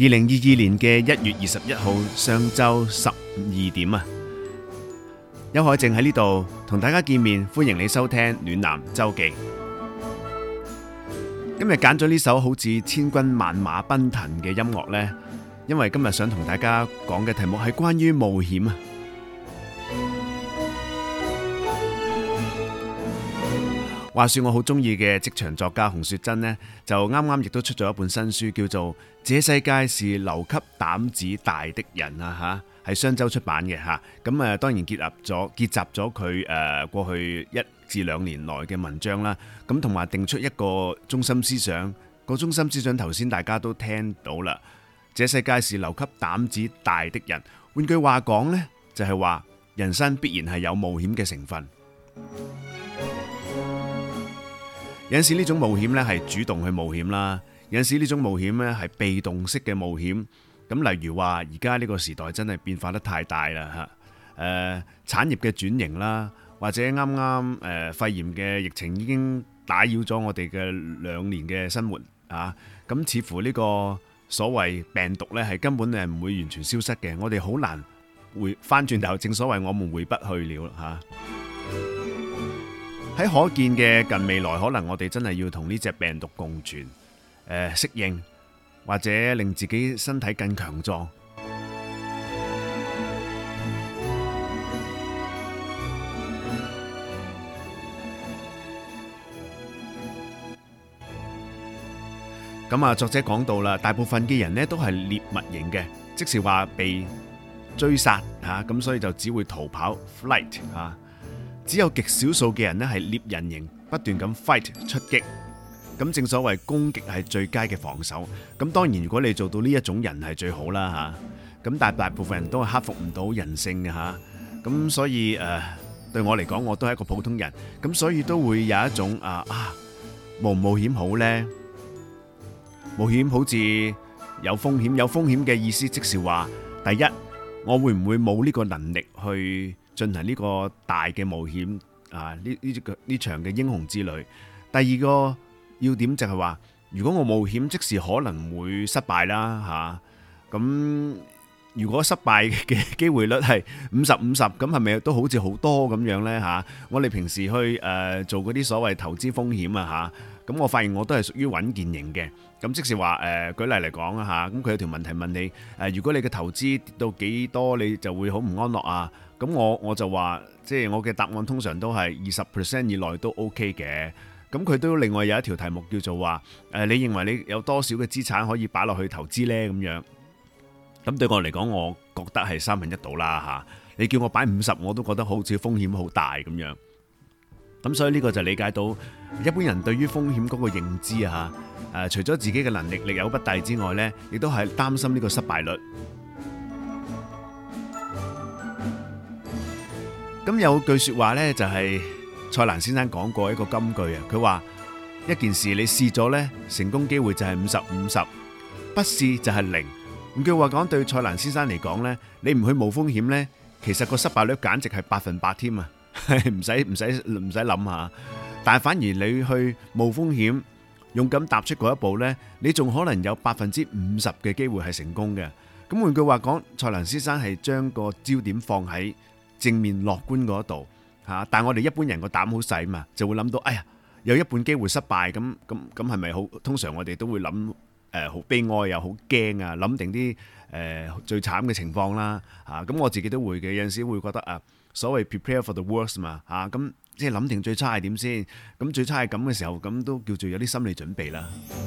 2022年嘅1月21號上晝12點啊，邱海靜喺呢度同大家見面，歡迎你收聽暖男周記。今日揀咗呢首好似千軍萬馬奔騰嘅音樂呢，因為今日想同大家講嘅題目係關於冒險啊。話說我好中意嘅職場作家洪雪珍呢，就啱啱亦都出咗一本新書，叫做《這世界是留給膽子大的人》啊，係商周出版嘅吓。咁當然結集咗佢過去1至2年來嘅文章啦。咁同埋定出一個中心思想。個中心思想頭先大家都聽到啦。這世界是留給膽子大的人。換句話講呢，就係話人生必然係有冒險嘅成分。有陣時呢種冒險呢係主動去冒險啦，有陣時呢種冒險呢係被動式嘅冒險。咁例如話而家呢個時代真係變化得太大啦嚇，產業嘅轉型啦，或者啱啱肺炎嘅疫情已經打擾咗我哋嘅2年嘅生活啊。咁似乎呢個所謂病毒呢係根本係唔會完全消失嘅，我哋好難回翻轉頭，正所謂我們回不去了嚇。喺可見嘅近未來，可能我哋真係要同呢隻病毒共存，適應或者令自己身體更強壯。咁啊，作者講到啦，大部分嘅人呢都係獵物型嘅，即是話被追殺嚇，咁所以就只會逃跑 flight 嚇。只有極少數嘅人呢係獵人型，不斷咁 fight 出擊。咁正所謂攻擊係最佳嘅防守。咁當然如果你做到呢一種人係最好啦嚇。咁但係大部分人都係克服唔到人性嘅嚇。咁所以對我嚟講，我都係一個普通人。咁所以都會有一種冒唔冒險好呢？冒險好似有風險，有風險嘅意思即是話，第一，我會唔會冇呢個能力去進行呢個大嘅冒險啊？呢場嘅英雄之旅。第二個要點就係話，如果我冒險，即使可能會失敗啦嚇。咁如果失敗嘅機會率係50-50，咁係咪都好似好多咁樣呢嚇？我哋平時去做嗰啲所謂投資風險啊嚇，咁我發現我都係屬於穩健型嘅。咁即是話舉例嚟講啊嚇，咁佢有條問題問你如果你嘅投資跌到幾多，你就會好唔安樂啊？咁我就話，即係我嘅答案通常都係20% 以內都 OK 嘅。咁佢都另外有一條題目叫做話你認為你有多少嘅資產可以擺落去投資呢？咁樣。咁對我嚟講，我覺得係1/3到啦嚇。你叫我擺50，我都覺得好似風險好大咁樣。咁所以呢個就理解到一般人對於風險嗰個認知啊嚇。除咗自己嘅能力力有不逮之外呢，亦都係擔心呢個失敗率。咁有句説話呢，就係蔡瀾先生講過一個金句啊。佢話一件事你試咗呢，成功機會就係50-50，不試就係0。換句話講，對蔡瀾先生嚟講呢，你唔去冒風險呢，其實個失敗率簡直係100%添啊！唔使諗下。但係反而你去冒風險，勇敢踏出嗰一步呢，你仲可能有50%嘅機會係成功嘅。咁換句話講，蔡瀾先生係將個焦點放喺正面樂觀嗰度嚇。但係我哋一般人個膽好細嘛，就會諗到，哎呀，有一半機會失敗，咁係咪好？通常我哋都會諗好悲哀又好驚啊，諗定啲最慘嘅情況啦嚇。咁我自己都會嘅，有陣時會覺得所謂 prepare for the worst 嘛嚇。咁即係諗定最差係點先，咁最差係咁嘅時候，咁都叫做有啲心理準備啦。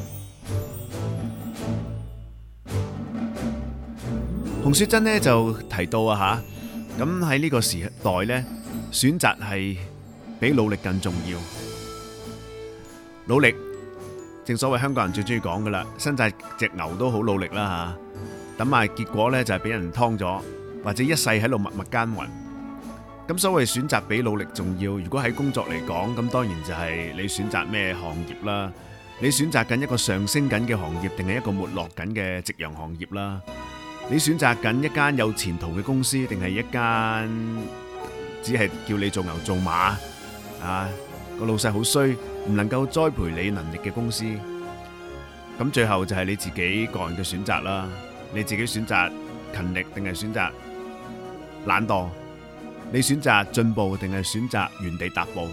洪雪珍呢就提到咁喺呢個時代呢，選擇係比努力更重要。努力，正所謂香港人最中意講噶啦，新紮隻牛都好努力啦嚇，等埋結果呢就係俾人劏咗，或者一世喺度默默耕耘。咁所謂選擇比努力重要，如果喺工作嚟講，咁當然就係你選擇咩行業啦，你選擇緊一個上升緊嘅行業，定係一個沒落緊嘅夕陽行業啦？你選擇緊一間有前途嘅公司，定係一間只係叫你做牛做馬個老細好衰，唔能夠栽培你能力嘅公司？ 咁最後就係你自己個人嘅選擇啦。你自己選擇勤力定係選擇懶惰？你選擇進步定係選擇原地踏步？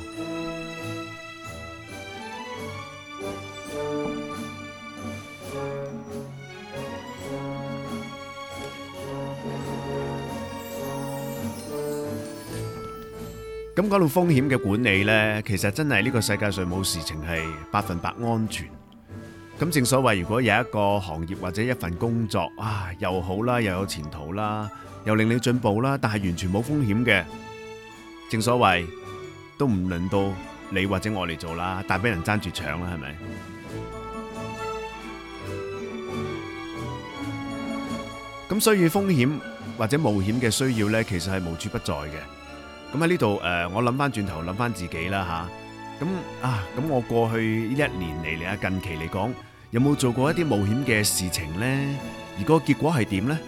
咁講到風險嘅管理呢，其實真係呢個世界上冇事情係100%安全。咁正所謂，如果有一個行業或者一份工作又好啦，又有前途啦，又令你進步啦，但係完全冇風險嘅，正所謂都唔輪到你或者我嚟做啦，但俾人爭住搶啦，係咪？咁所以風險或者冒險嘅需要呢，其實係無處不在嘅。咁喺呢度我諗翻轉頭，諗翻自己啦吓。咁我過去呢1年嚟近期嚟講，有冇做過一啲冒險嘅事情呢？而個結果係點呢？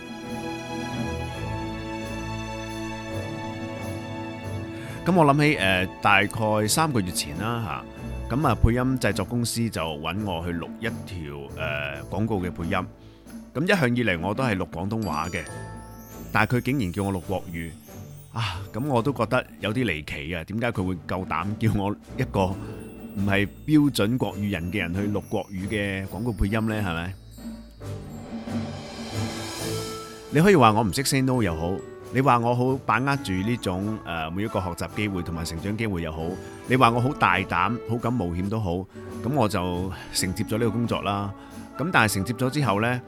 咁我諗起大概3個月前啦吓，咁配音製作公司就揾我去錄一條廣告嘅配音。咁一向以嚟我都係錄廣東話嘅，但係佢竟然叫我錄國語。咁我都覺得有啲離奇啊！點解佢會夠膽叫我一個唔係標準國語人嘅人去錄國語嘅廣告配音呢？係咪？你可以話我唔識 say no 又好，你話我好把握住呢種每一個學習機會同埋成長機會又好，你話我好大膽、好敢冒險都好，咁我就承接咗呢個工作啦。咁但係承接咗之後呢，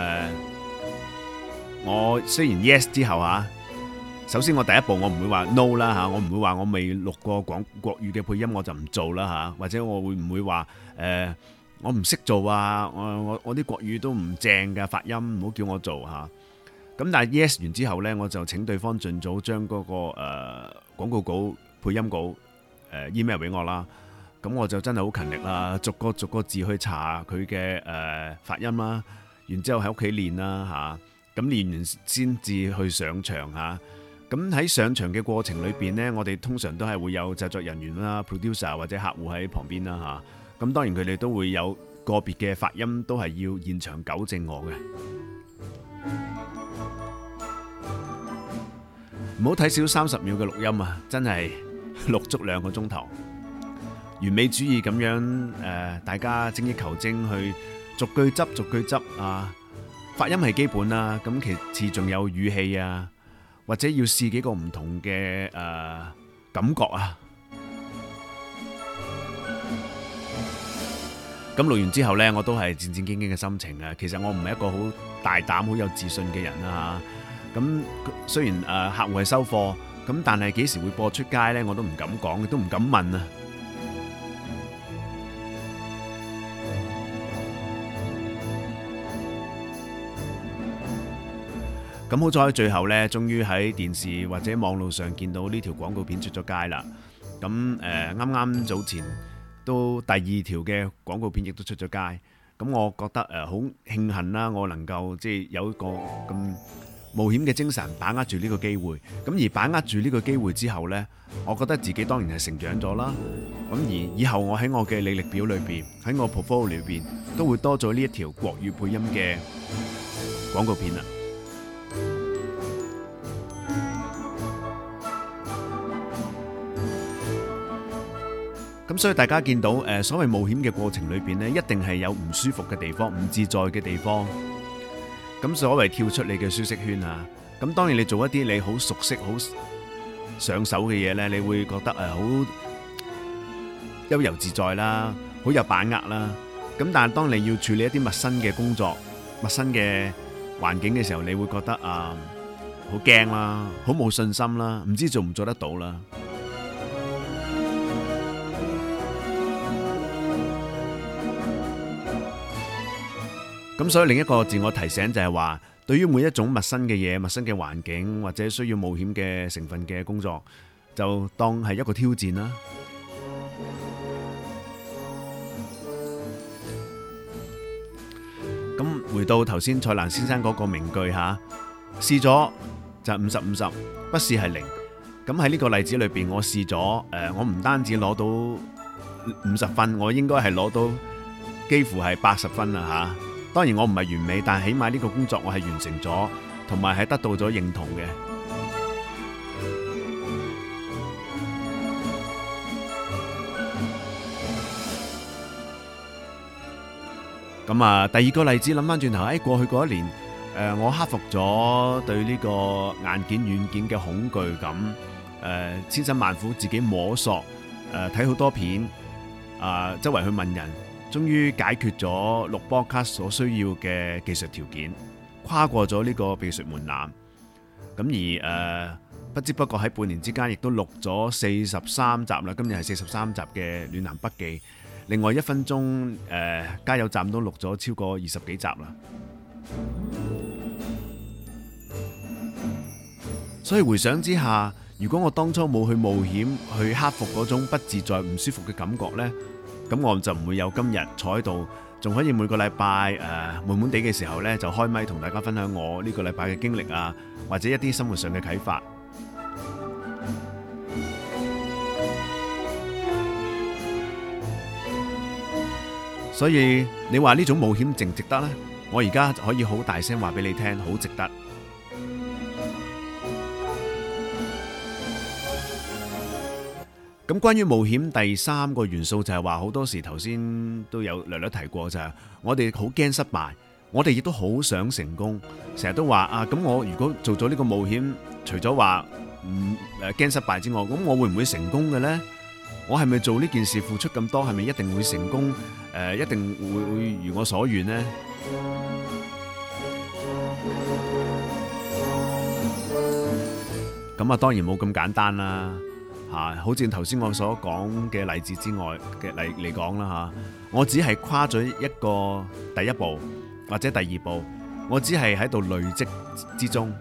我雖然 yes 之後首先我第一步我唔會話 no 啦嚇，我唔會話我未錄過國語嘅配音我就唔做啦嚇，或者我會唔會話我唔識做啊？我啲國語都唔正嘅發音，唔好叫我做嚇。咁但係 yes 完之後呢，我就請對方盡早將嗰個廣告稿、配音稿email 俾我啦。咁我就真係好勤力啦，逐個字去查佢嘅發音啦，然之後喺屋企練啦嚇。咁練完先至去上場嚇。咁喺上場嘅過程裏邊呢，我哋通常都係會有製作人員啦、producer 或者客戶喺旁邊啦嚇。咁當然佢哋都會有個別嘅發音都係要現場糾正我嘅。唔好睇少30秒嘅錄音啊！真係錄足2個鐘頭，完美主義咁樣大家精益求精去逐句執啊！發音係基本啦，咁其次仲有語氣啊。或者要試幾個唔同嘅感覺啊！咁錄完之後呢，我都係戰戰兢兢嘅心情啊！其實我唔係一個好大膽、好有自信嘅人啦嚇。咁雖然客戶係收貨，咁但係幾時會播出街呢？我都唔敢講，都唔敢問啊！咁好在最後呢，終於喺電視或者網路上見到呢條廣告片出咗街啦。咁啱啱早前都第2條嘅廣告片亦都出咗街。咁我覺得好慶幸啦，我能夠即係有一個咁冒險嘅精神，把握住呢個機會。咁而把握住呢個機會之後呢，我覺得自己當然係成長咗啦。咁而以後我喺我嘅履歷表裏邊，喺我 portfolio 裏邊，都會多咗呢一條國語配音嘅廣告片啦。咁所以大家見到所謂冒險嘅過程裏邊呢，一定係有唔舒服嘅地方、唔自在嘅地方。咁所謂跳出你嘅舒適圈啊，咁當然你做一啲你好熟悉、好上手嘅嘢呢，你會覺得好悠遊自在啦，好有把握啦。咁但係當你要處理一啲陌生嘅工作、陌生嘅環境嘅時候，你會覺得好驚啦，好冇信心啦，唔知做唔做得到啦。咁所以另一個自我提醒就係話，對於每一種陌生嘅嘢、陌生嘅環境或者需要冒險嘅成分嘅工作，就當係一個挑戰啦。咁回到頭先蔡瀾先生嗰個名句嚇，試咗就50-50，不試係0。咁喺呢個例子裏邊，我試咗我唔單止攞到50分，我應該係攞到幾乎係80分啦嚇。當然我唔係完美，但係起碼呢個工作我係完成咗，同埋係得到咗認同嘅。咁啊，第二個例子諗翻轉頭，喺過去嗰一年，我克服咗對呢個硬件軟件嘅恐懼感，千辛萬苦自己摸索，睇好多片，周圍去問人，終於解決咗錄 podcast 所需要嘅技術條件，跨過咗呢個技術門檻。咁而不知不覺喺半年之間，亦都錄咗43集啦。今日係43集嘅暖男筆記。另外1分鐘加油站都錄咗超過20幾集啦。所以回想之下，如果我當初冇去冒險去克服嗰種不自在唔舒服嘅感覺呢，咁我就唔會有今日坐喺度，仲可以每個禮拜悶悶地嘅時候呢，就開咪同大家分享我呢個禮拜嘅經歷啊，或者一啲生活上嘅啟發。所以你話呢種冒險值唔值得呢？我而家可以好大聲話俾你聽，好值得。咁關於冒險第3個元素就係話，好多時頭先都有略略提過，就係我哋好驚失敗，我哋亦都好想成功，成日都話啊，咁我如果做咗呢個冒險，除咗話驚失敗之外，咁我會唔會成功嘅呢？我係咪做呢件事付出咁多，係咪一定會成功？一定會如我所願呢？咁啊，當然冇咁簡單啦，吓，好似頭先我所講嘅例子之外嘅嚟講啦，吓，我只係跨咗一個第一步或者第2步，我只係喺度累積之中。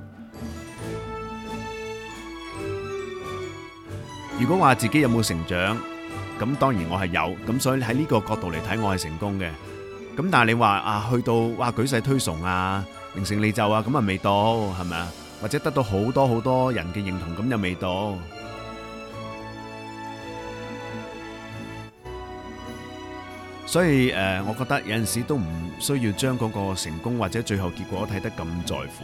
如果話自己有冇成長，咁當然我係有，咁所以喺呢個角度嚟睇，我係成功嘅。咁但係你話去到舉世推崇啊、名成利就啊，咁啊未到，係咪啊？或者得到好多人嘅認同，咁又未到。所以我覺得有陣時都唔需要將嗰個成功或者最後結果睇得咁在乎，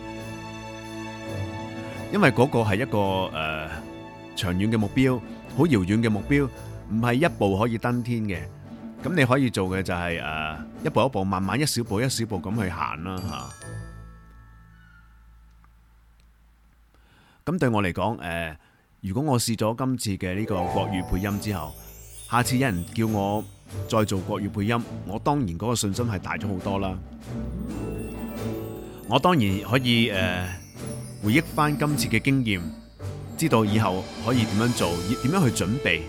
因為嗰個係一個長遠嘅目標，好遙遠嘅目標，唔係一步可以登天嘅。咁你可以做嘅就係一步一步，慢慢一小步一小步咁去行啦吓。咁對我嚟講，如果我試咗今次嘅呢個國語配音之後，下次有人叫我再做國語配音，我當然嗰個信心係大咗好多啦。我當然可以回憶翻今次嘅經驗，知道以後可以點樣做，點樣去準備。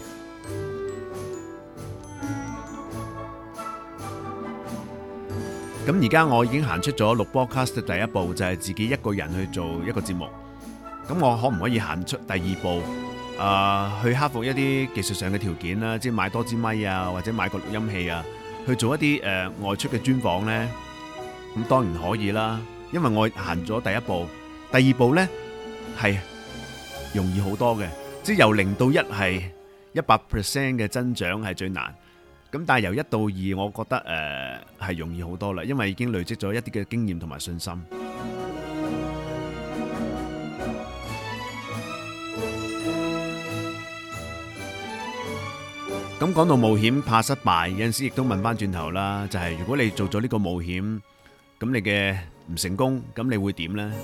咁而家我已經行出咗錄 podcast 嘅第一步，就係自己一個人去做一個節目。咁我可唔可以行出第2步，去克服一啲技術上嘅條件啦，即係買多支咪啊，或者買個錄音器啊，去做一啲外出嘅專訪呢？咁當然可以啦，因為我行咗第1步，第2步呢係容易好多嘅，即係由0到1係100% 嘅增長係最難。咁但係由1到2，我覺得係容易好多啦，因為已經累積咗一啲嘅經驗同埋信心。咁講到冒險怕失敗，有陣時亦都問翻轉頭啦，就係如果你做咗呢個冒險，咁你嘅唔成功，咁你會點呢？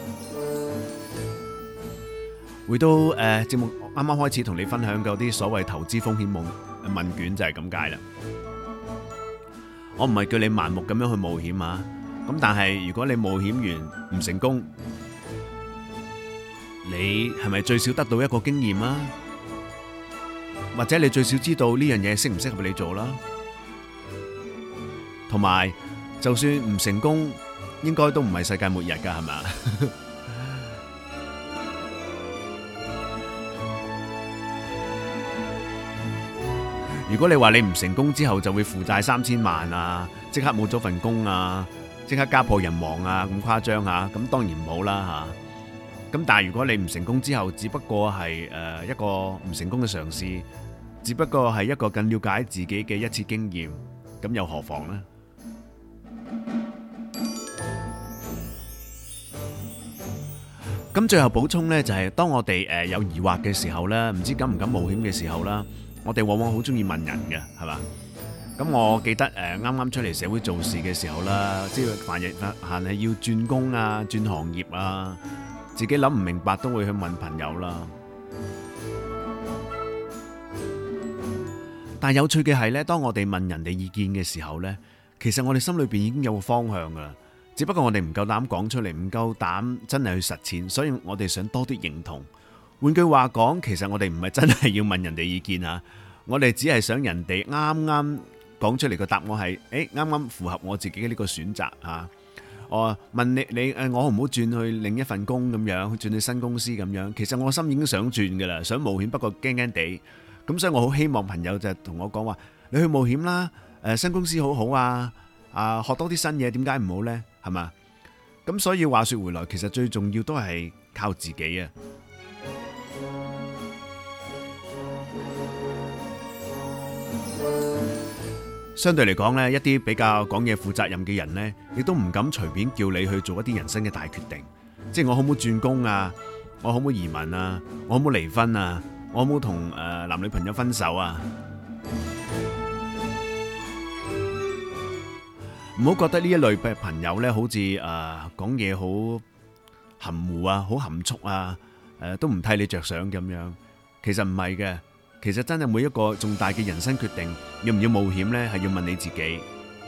回到節目啱啱開始同你分享嗰啲所謂投資風險問卷就係咁解啦。我唔係叫你盲目咁樣去冒險啊，咁但係如果你冒險完唔成功，你係咪最少得到一個經驗啊？或者你最少知道呢樣嘢適唔適合你做啦？同埋就算唔成功，應該都唔係世界末日噶，係咪？如果你話你唔成功之後就會負債3000萬啊，即刻冇咗份工啊，即刻家破人亡啊，咁誇張啊，咁當然唔好啦吓。咁但係如果你唔成功之後，只不過係一個唔成功嘅嘗試，只不過係一個更了解自己嘅一次經驗， 咁又何妨呢？咁最後補充呢，就係當我哋有疑惑嘅時候呢，唔知敢唔敢冒險嘅時候啦，我哋往往好中意問人嘅，係嘛？咁我記得啱啱出嚟社會做事嘅時候啦，即係凡係要轉工啊、轉行業啊，自己諗唔明白都會去問朋友啦。但係有趣嘅係呢，當我哋問人哋意見嘅時候呢，其實我哋心裏邊已經有個方向噶啦。只不過我哋唔夠膽講出嚟，唔夠膽真係去實踐，所以我哋想多啲認同。換句話講，其實我哋唔係真係要問人哋意見吓，我哋只係想人哋啱啱講出嚟個答案係，啱啱符合我自己嘅呢個選擇吓。我問你我好唔好轉去另一份工咁樣，轉去新公司咁樣？其實我心已經想轉噶啦，想冒險，不過驚驚地。咁所以我好希望朋友就同我講話，你去冒險啦，新公司好好啊，學多啲新嘢，點解唔好呢？係嘛？咁所以話說回來，其實最重要都係靠自己啊。相對嚟講呢，一啲比較講嘢負責任嘅人呢，亦都唔敢隨便叫你去做一啲人生嘅大決定。即係我好唔好轉工啊？我好唔好移民啊？我好唔好離婚啊？我好唔好同男女朋友分手啊？唔好覺得呢一類嘅朋友呢，好似講嘢好含糊啊，好含蓄啊，都唔替你着想咁樣。其實唔係嘅，其實真係每一個重大嘅人生決定，要唔要冒險呢？係要問你自己。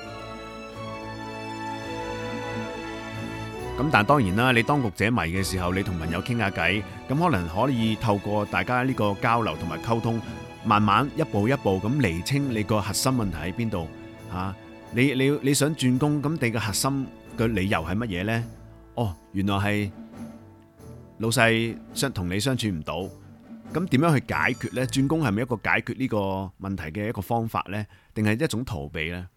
咁但係當然啦，你當局者迷嘅時候，你同朋友傾下偈，咁可能可以透過大家呢個交流同埋溝通，慢慢一步一步咁釐清你個核心問題喺邊度吓。你想轉工，咁你嘅核心嘅理由係乜嘢呢？哦，原來係老細同你相處唔到，咁點樣去解決呢？轉工係咪一個解決呢個問題嘅一個方法呢？定係一種逃避呢？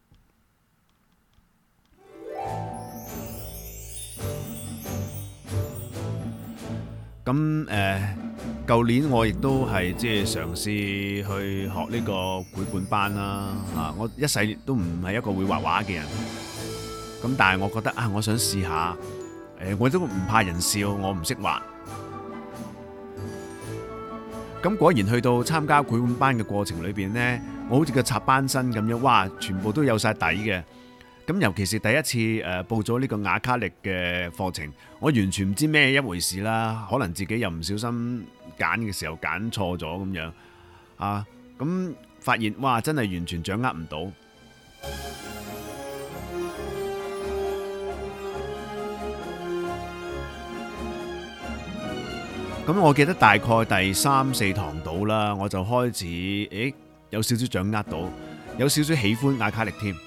咁舊年我亦都係即係嘗試去學呢個繪本班啦。我一世都唔係一個會畫畫嘅人，咁但係我覺得我想試下，我都唔怕人笑，我唔識畫。咁果然去到參加繪本班嘅過程裏邊呢，我好似個插班生咁樣，哇！全部都有晒底嘅。咁尤其是第一次報咗呢個亞卡力嘅課程，我完全唔知咩一回事啦。可能自己又唔小心揀嘅時候揀錯咗咁樣啊，咁發現哇，真係完全掌握唔到。咁我記得大概第3、4堂到啦，我就開始有少少掌握到，有少少喜歡亞卡力添。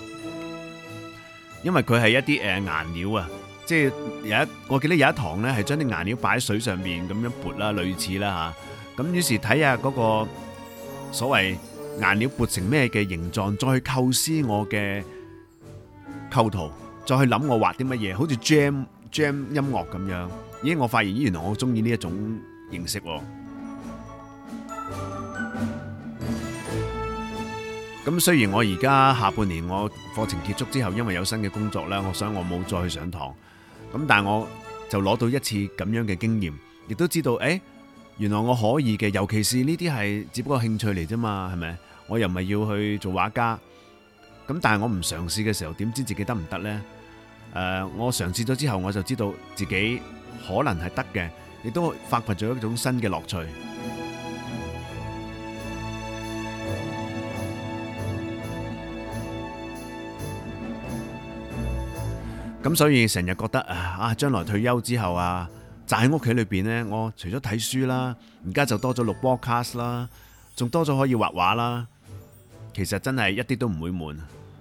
因為佢係一啲顏料啊，即係我記得有一堂呢係將啲顏料擺喺水上面咁樣撥啦，類似啦吓。咁於是睇下嗰個所謂顏料撥成咩嘅形狀，再去構思我嘅構圖，再去諗我畫啲乜嘢，好似 jam 音樂咁樣。咦，我發現原來我中意呢一種形式喎。咁雖然我而家下半年我課程結束之後，因為有新嘅工作啦，我想我冇再去上堂。咁但係我就攞到一次咁樣嘅經驗，亦都知道原來我可以嘅。尤其是呢啲係只不過興趣嚟啫嘛，係咪？我又唔係要去做畫家。咁但係我唔嘗試嘅時候，點知自己得唔得呢？我嘗試咗之後，我就知道自己可能係得嘅，亦都發掘咗一種新嘅樂趣。咁所以成日覺得將來退休之後宅喺屋企裏邊呢，我除咗睇書啦，而家就多咗錄 podcast 啦，仲多咗可以畫畫啦。其實真係一啲都唔會悶。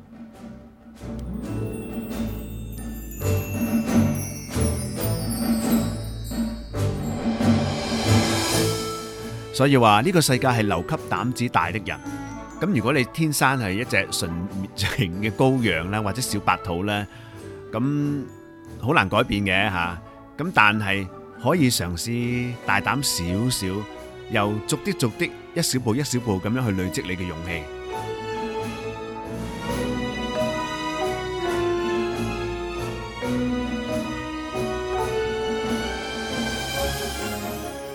所以話呢個世界係留給膽子大的人。咁如果你天生係一隻純情嘅羔羊啦，或者小白兔呢，咁好難改變嘅吓。咁但係可以嘗試大膽少少，又逐啲一小步一小步咁樣去累積你嘅勇氣。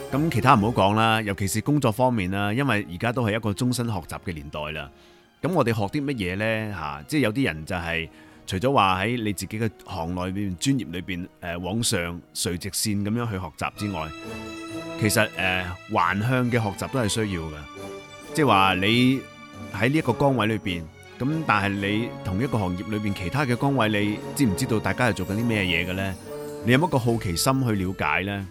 咁其他唔好講啦，尤其是工作方面啦，因為而家都係一個終身學習嘅年代啦。咁我哋學啲乜嘢呢？嚇，即係有啲人就係除咗話喺你自己嘅行內邊、專業裏邊往上垂直線咁樣去學習之外，其實橫向嘅學習都係需要嘅。即係話你喺呢一個崗位裏邊，咁但係你同一個行業裏邊其他嘅崗位，你知唔知道大家係做緊啲咩嘢嘅呢？你有冇一個好奇心去了解呢？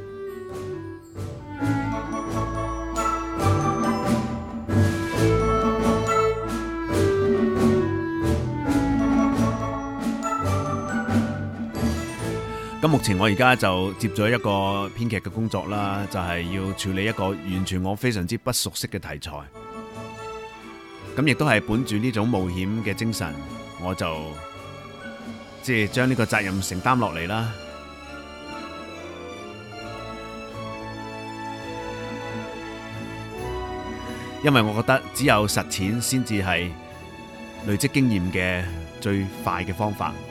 咁目前我而家就接咗一個編劇嘅工作啦，就係要處理一個完全我非常之不熟悉嘅題材。咁亦都係本住呢種冒險嘅精神，我就即係將呢個責任承擔落嚟啦。因為我覺得只有實踐先至係累積經驗嘅最快嘅方法。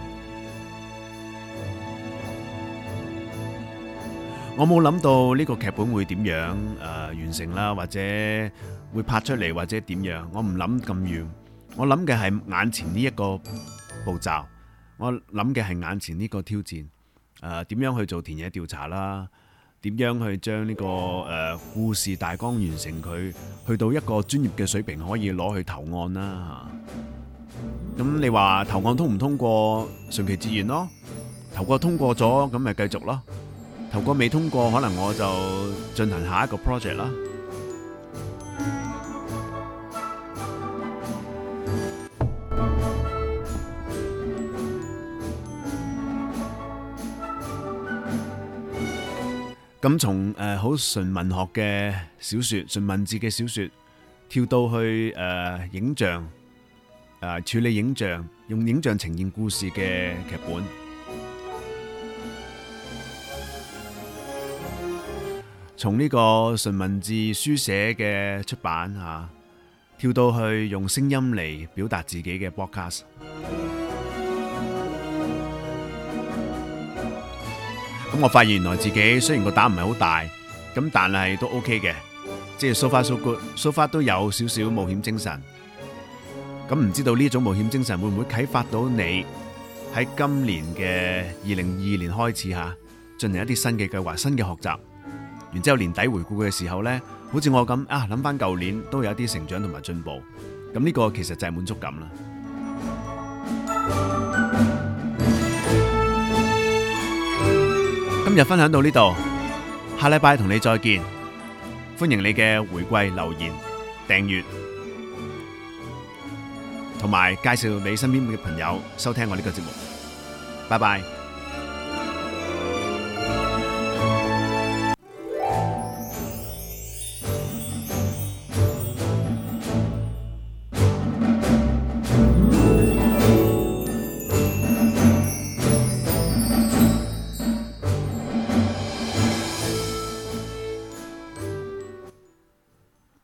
我冇諗到呢個劇本會點樣完成啦，或者會拍出嚟，或者點樣。我唔諗咁遠，我諗嘅係眼前呢一個步驟，我諗嘅係眼前呢個挑戰。點樣去做田野調查啦？點樣去將呢個故事大綱完成佢，去到一個專業嘅水平可以攞去投案啦。咁你話投案通唔通過，順其自然咯。投過通過咗，咁咪繼續咯。投過未通過，可能我就進行下一個 project 啦。咁從好純文學嘅小說、純文字嘅小說，跳到去影像，處理影像，用影像呈現故事嘅劇本。從呢個純文字書寫嘅出版跳到去用聲音嚟表達自己嘅 podcast。咁我發現原來自己雖然個膽唔係好大，咁但係都 OK 嘅，即係 so far so good，so far 都有少少冒險精神。咁唔知道呢種冒險精神會唔會啟發到你喺今年嘅2022年開始進行一啲新嘅計劃、新嘅學習。然之後年底回顧嘅時候呢，好似我咁諗翻舊年都有一啲成長同埋進步，咁呢個其實就係滿足感啦。今日分享到呢度，下禮拜同你再見，歡迎你嘅回饋留言、訂閱同埋介紹你身邊嘅朋友收聽我呢個節目。拜拜。